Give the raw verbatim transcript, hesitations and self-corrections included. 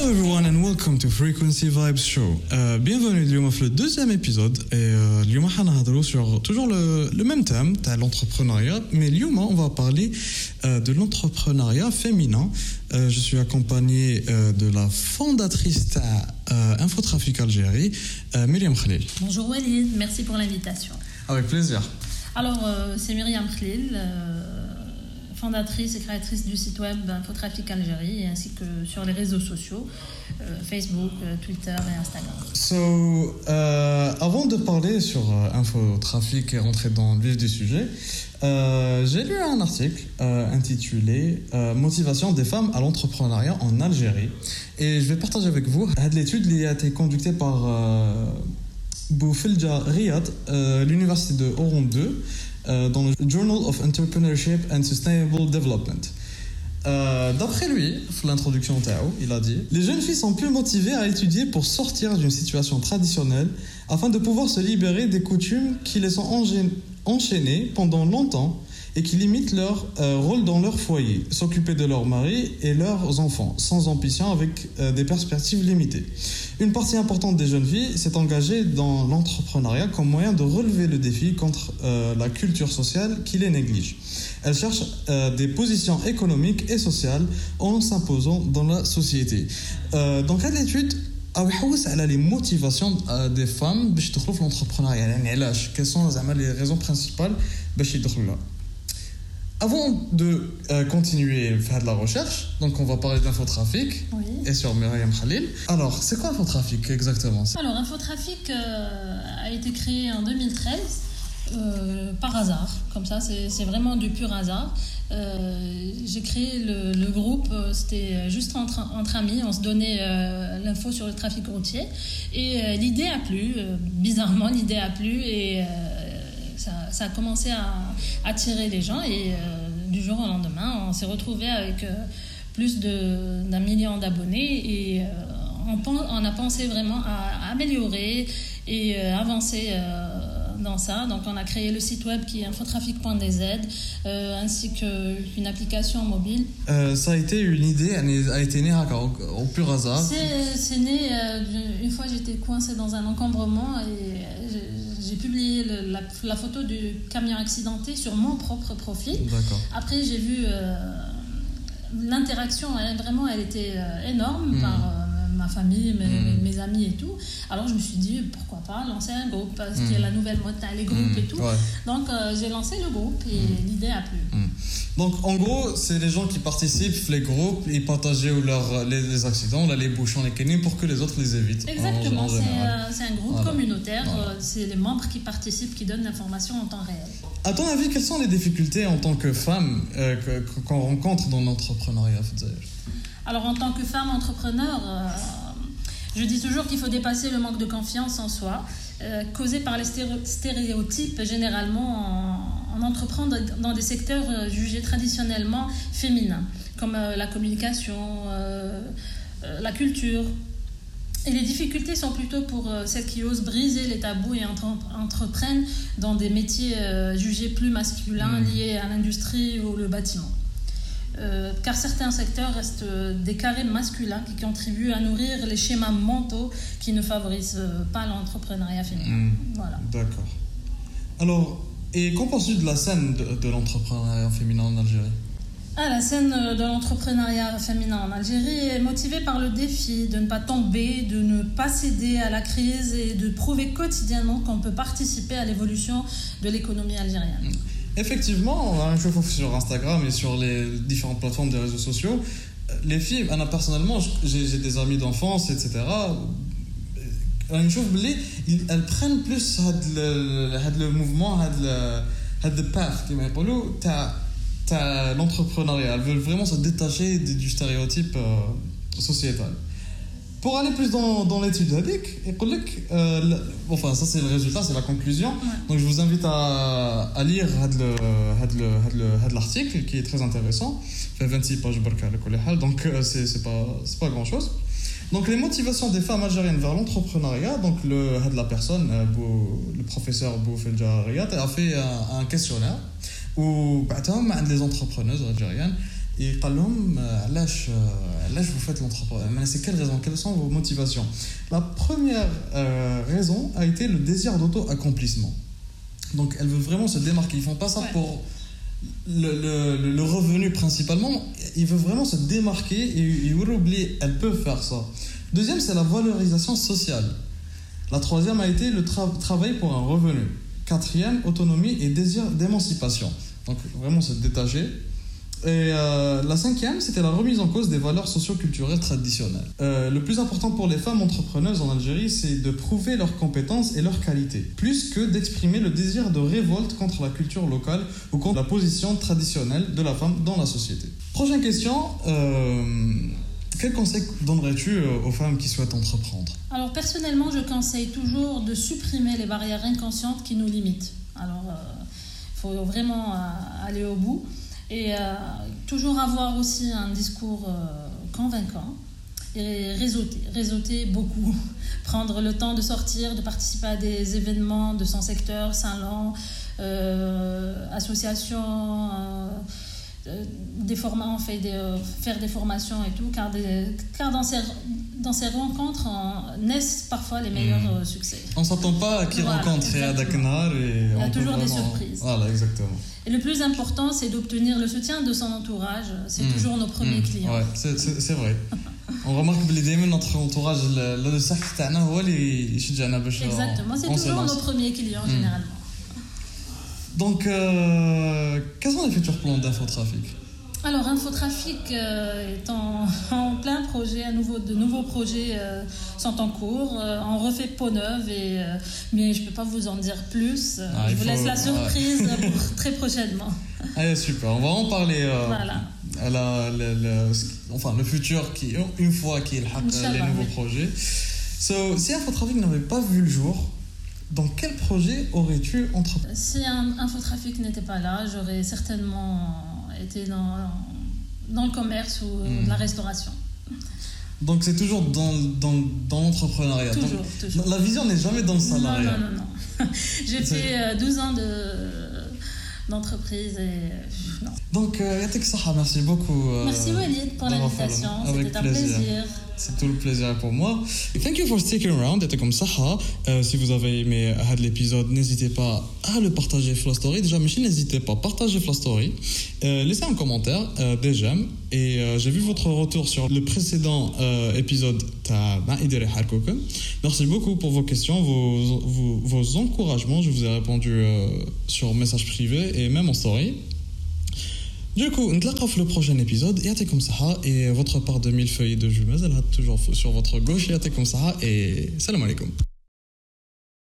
everyone and welcome to Frequency Vibes Show. Euh, bienvenue اليوم في le deuxième épisode et euh, اليوم حنهضروا sur toujours le, le même thème تاع l'entrepreneuriat, mais اليوم on va parler euh, de l'entrepreneuriat féminin. Euh, je suis accompagné euh, de la fondatrice تاع euh, Infotrafic Algérie, euh, Myriam Khalil. Bonjour Walid, merci pour l'invitation. Avec plaisir. Alors euh, c'est Myriam Khalil, euh, fondatrice et créatrice du site web Infotrafic Algérie, ainsi que sur les réseaux sociaux, euh, Facebook, Twitter et Instagram. So, euh, avant de parler sur euh, Infotrafic et rentrer dans le vif du sujet, euh, j'ai lu un article euh, intitulé euh, Motivation des femmes à l'entrepreneuriat en Algérie. Et je vais partager avec vous cette étude qui a été conduite par euh, Boufilja Riyad, euh, l'université de Oran deux, euh, dans le Journal of Entrepreneurship and Sustainable Development. Euh, d'après lui, l'introduction Tao, il a dit: les jeunes filles sont plus motivées à étudier pour sortir d'une situation traditionnelle afin de pouvoir se libérer des coutumes qui les ont enchaînées pendant longtemps et qui limitent leur euh, rôle dans leur foyer, s'occuper de leur mari et leurs enfants, sans ambition, avec euh, des perspectives limitées. Une partie importante des jeunes filles s'est engagée dans l'entrepreneuriat comme moyen de relever le défi contre euh, la culture sociale qui les néglige. Elles cherchent euh, des positions économiques et sociales en s'imposant dans la société. Euh, dans quelle étude أو يحوس على les motivations des femmes باش يدخلوا في l'entrepreneuriat, يعني علاش quelles sont زعما les raisons principales باش يدخلوا là. Avant de euh, continuer faire de la recherche, donc on va parler d'infotrafic, oui, et sur Myriam Khalil. Alors, c'est quoi Infotrafic exactement? Alors, Infotrafic euh, a été créé en deux mille treize euh, par hasard, comme ça, c'est, c'est vraiment du pur hasard. Euh, j'ai créé le, le groupe, c'était juste entre, entre amis, on se donnait euh, l'info sur le trafic routier, et euh, l'idée a plu, euh, bizarrement l'idée a plu, et euh, Ça, ça a commencé à attirer les gens et euh, du jour au lendemain, on s'est retrouvé avec euh, plus de, d'un million d'abonnés et euh, on, on a pensé vraiment à améliorer et euh, avancer euh, dans ça. Donc on a créé le site web qui est infotrafic point d z euh, ainsi qu'une application mobile. Euh, ça a été une idée, elle a été née au, au pur hasard. C'est, c'est né, euh, une fois j'étais coincée dans un encombrement et je, j'ai publié le, la, la photo du camion accidenté sur mon propre profil. D'accord. Après, j'ai vu euh, l'interaction, elle, vraiment, elle était euh, énorme mmh. par euh, ma famille, mes, mmh. mes, mes amis et tout. Alors, je me suis dit, pourquoi pas lancer un groupe, parce mmh. qu'il y a la nouvelle mode, les groupes mmh. et tout. Ouais. Donc, euh, j'ai lancé le groupe et mmh. l'idée a plu. Mmh. Donc, en gros, c'est les gens qui participent, les groupes, ils partagent leur, les, les accidents, là, les bouchons, les canines, pour que les autres les évitent. Exactement, en, en c'est, euh, c'est un groupe voilà. communautaire, voilà. euh, c'est les membres qui participent, qui donnent l'information en temps réel. À ton avis, quelles sont les difficultés en tant que femme euh, que, qu'on rencontre dans l'entrepreneuriat? Alors, en tant que femme entrepreneur, euh, je dis toujours qu'il faut dépasser le manque de confiance en soi, euh, causé par les stéréotypes généralement en, en entreprendre dans des secteurs euh, jugés traditionnellement féminins, comme euh, la communication, euh, euh, la culture. Et les difficultés sont plutôt pour euh, celles qui osent briser les tabous et entre- entreprennent dans des métiers euh, jugés plus masculins, mmh. liés à l'industrie ou le bâtiment. Euh, car certains secteurs restent des carrés masculins qui contribuent à nourrir les schémas mentaux qui ne favorisent pas l'entrepreneuriat féminin. Mmh. Voilà. D'accord. Alors, et qu'en penses-tu de la scène de, de l'entrepreneuriat féminin en Algérie? Ah, la scène de l'entrepreneuriat féminin en Algérie est motivée par le défi de ne pas tomber, de ne pas céder à la crise et de prouver quotidiennement qu'on peut participer à l'évolution de l'économie algérienne. Mmh. Effectivement, je trouve sur Instagram et sur les différentes plateformes des réseaux sociaux, les filles, Anna, personnellement, j'ai, j'ai des amis d'enfance, et cetera. Je trouve qu'elles prennent plus le, le mouvement, le, le path, comme on dit, t'as, t'as l'entrepreneuriat. Elles veulent vraiment se détacher du stéréotype euh, sociétal. Pour aller plus dans, dans l'étude هذيك يقول لك euh, enfin ça c'est le résultat, c'est la conclusion. Ouais. Donc je vous invite à, à lire هاد le, هاد le, هاد le, هاد l'article qui est très intéressant. Fait vingt-six pages بركة على كل حال, donc euh, c'est c'est pas c'est pas grand-chose. Donc les motivations des femmes algériennes vers l'entrepreneuriat, donc le هاد la personne Bou, le professeur Boufilja Riyad a fait un, un questionnaire où بعتهم عند les entrepreneuses algériennes et قال لهم علاش علاش vous faites l'entrepreneuriat, c'est quelles raisons, quelles sont vos motivations. La première euh, raison a été le désir d'auto-accomplissement. Donc elle veut vraiment se démarquer, ils font pas ça ouais. pour le, le, le revenu principalement, ils veulent vraiment se démarquer et, et oublier, elles peuvent faire ça. Deuxième, c'est la valorisation sociale. La troisième a été le tra- travail pour un revenu. Quatrième, autonomie et désir d'émancipation. Donc vraiment se détacher. Et euh, la cinquième, c'était la remise en cause des valeurs socio-culturelles traditionnelles. Euh, le plus important pour les femmes entrepreneuses en Algérie, c'est de prouver leurs compétences et leurs qualités, plus que d'exprimer le désir de révolte contre la culture locale ou contre la position traditionnelle de la femme dans la société. Prochaine question, euh, quel conseil donnerais-tu aux femmes qui souhaitent entreprendre? Alors personnellement, je conseille toujours de supprimer les barrières inconscientes qui nous limitent. Alors, il euh, faut vraiment euh, aller au bout. Et euh, toujours avoir aussi un discours euh, convaincant et réseauter, réseauter beaucoup, prendre le temps de sortir, de participer à des événements de son secteur, salons, euh, associations, euh, des formats, on fait des, euh, faire des formations et tout, car, des, car dans, ces, dans ces rencontres on, naissent parfois les meilleurs mmh. succès. On ne s'attend pas à qui voilà, rencontrer à Dakar et il y a on toujours vraiment... des surprises. Voilà, exactement. Et le plus important, c'est d'obtenir le soutien de son entourage. C'est mmh. toujours nos premiers mmh. clients. Ouais, c'est, c'est, c'est vrai. On remarque que notre entourage, le sac تاعنا هو اللي يشجعنا باش. Exactement, c'est toujours nos premiers clients mmh. généralement. Donc, euh, quels sont les futurs plans d'Infotrafic? Alors, Infotrafic euh, est en, en plein projet, à nouveau, de nouveaux projets euh, sont en cours. Euh, on refait peau neuve, et, euh, mais je ne peux pas vous en dire plus. Ah, je vous faut... laisse la surprise ouais. pour très prochainement. Allez, super, on va en parler. Euh, voilà. À la, le, le, enfin, le futur, qui, une fois qu'il y a les nouveaux projets. So, si Infotrafic n'avait pas vu le jour, dans quel projet aurais-tu entrepris? Si un Infotrafic n'était pas là, j'aurais certainement été dans, dans le commerce ou mmh. la restauration. Donc c'est toujours dans, dans, dans l'entrepreneuriat. Toujours, Donc, toujours. La vision n'est jamais dans le salariat. Non, non, non. non. J'ai c'est... fait douze ans de, d'entreprise et non. Donc, euh, merci beaucoup. Euh, merci Walid pour l'invitation. C'était un plaisir. C'est tout le plaisir pour moi. Thank you for sticking around. C'était comme ça. Euh, si vous avez aimé l'épisode, n'hésitez pas à le partager sur la story. Déjà, Michel, n'hésitez pas à partager sur la story. Euh, laissez un commentaire, euh, des j'aime. Et euh, j'ai vu votre retour sur le précédent euh, épisode. Merci beaucoup pour vos questions, vos, vos, vos encouragements. Je vous ai répondu euh, sur message privé et même en story. Du coup, on se le prochain épisode. Et comme ça, et votre part de mille feuilles de jumelles, elle a toujours sur votre gauche. Et comme ça, et salam alaikum.